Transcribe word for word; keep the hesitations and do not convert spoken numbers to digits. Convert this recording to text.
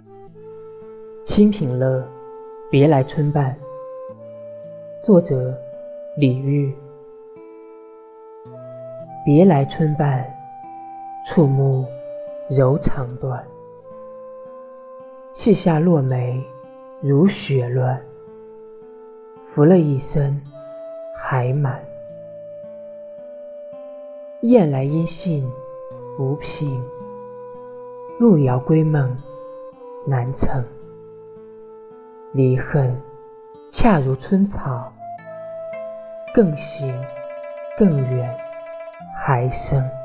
清平乐，别来春半。作者李煜。别来春半，触目柔肠断。细下落梅如雪乱，拂了一身还满。雁来音信不平，路遥归梦难成。离恨恰如春草，更行更远还生。